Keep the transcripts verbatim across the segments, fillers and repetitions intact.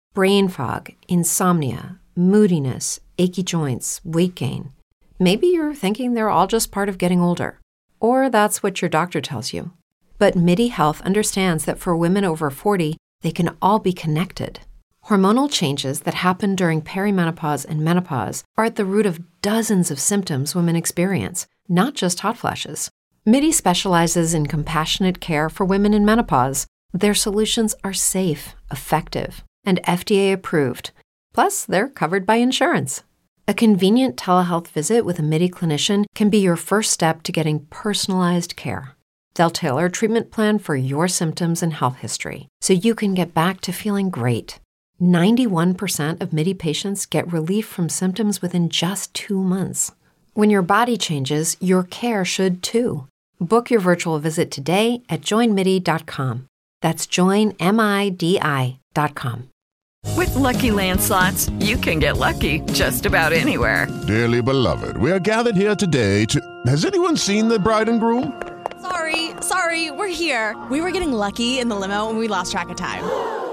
brain fog, insomnia, moodiness, achy joints, weight gain. Maybe you're thinking they're all just part of getting older, or that's what your doctor tells you. But MIDI Health understands that for women over forty, they can all be connected. Hormonal changes that happen during perimenopause and menopause are at the root of dozens of symptoms women experience, not just hot flashes. MIDI specializes in compassionate care for women in menopause. Their solutions are safe, effective, and F D A approved. Plus, they're covered by insurance. A convenient telehealth visit with a MIDI clinician can be your first step to getting personalized care. They'll tailor a treatment plan for your symptoms and health history, so you can get back to feeling great. ninety-one percent of MIDI patients get relief from symptoms within just two months. When your body changes, your care should too. Book your virtual visit today at join midi dot com. That's join midi dot com. With Lucky Land Slots, you can get lucky just about anywhere. Dearly beloved, we are gathered here today to... Has anyone seen the bride and groom? Sorry, sorry, we're here. We were getting lucky in the limo and we lost track of time.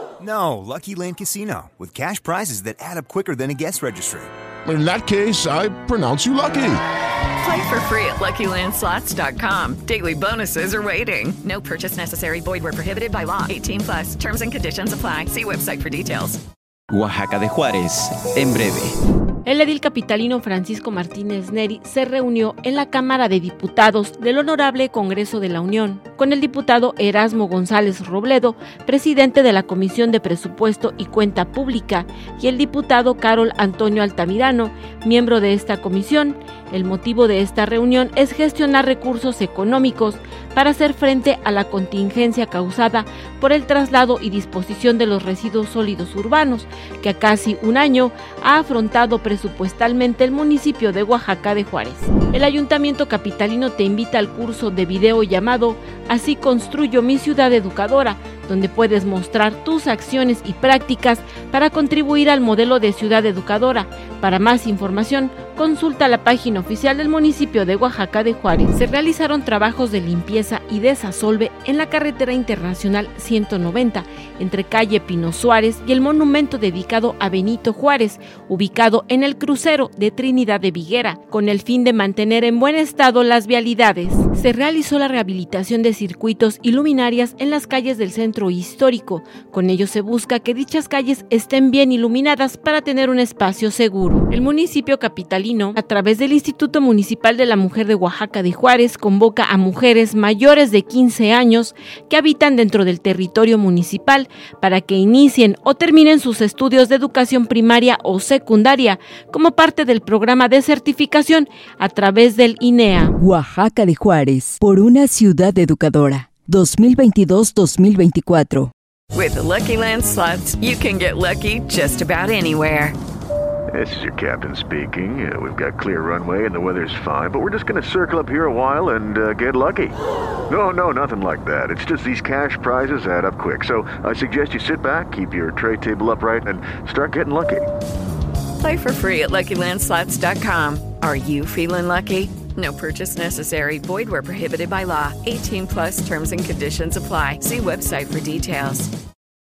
No, Lucky Land Casino, with cash prizes that add up quicker than a guest registry. In that case, I pronounce you lucky. Play for free at lucky land slots dot com. Daily bonuses are waiting. No purchase necessary. Void where prohibited by law. eighteen plus. Terms and conditions apply. See website for details. Oaxaca de Juárez, en breve. El edil capitalino Francisco Martínez Neri se reunió en la Cámara de Diputados del Honorable Congreso de la Unión con el diputado Erasmo González Robledo, presidente de la Comisión de Presupuesto y Cuenta Pública, y el diputado Carol Antonio Altamirano, miembro de esta comisión. El motivo de esta reunión es gestionar recursos económicos para hacer frente a la contingencia causada por el traslado y disposición de los residuos sólidos urbanos, que a casi un año ha afrontado presupuestalmente el municipio de Oaxaca de Juárez. El Ayuntamiento Capitalino te invita al curso de video llamado Así construyo mi ciudad educadora, donde puedes mostrar tus acciones y prácticas para contribuir al modelo de ciudad educadora. Para más información, consulta la página oficial del municipio de Oaxaca de Juárez. Se realizaron trabajos de limpieza y desasolve en la carretera internacional ciento noventa, entre calle Pino Suárez y el monumento dedicado a Benito Juárez, ubicado en el crucero de Trinidad de Viguera, con el fin de mantener en buen estado las vialidades. Se realizó la rehabilitación de circuitos y luminarias en las calles del centro histórico. Con ello se busca que dichas calles estén bien iluminadas para tener un espacio seguro. El municipio capitalino, a través del Instituto Municipal de la Mujer de Oaxaca de Juárez, convoca a mujeres mayores de quince años que habitan dentro del territorio municipal para que inicien o terminen sus estudios de educación primaria o secundaria como parte del programa de certificación a través del I N E A. Oaxaca de Juárez, por una ciudad educadora. dos mil veintidós dos mil veinticuatro. With the Lucky Land Slots, you can get lucky just about anywhere. This is your captain speaking. Uh, we've got clear runway and the weather's fine, but we're just going to circle up here a while and uh, get lucky. No, no, nothing like that. It's just these cash prizes add up quick. So I suggest you sit back, keep your tray table upright, and start getting lucky. Play for free at lucky land slots dot com. Are you feeling lucky? No purchase necessary. Void where prohibited by law. eighteen plus terms and conditions apply. See website for details.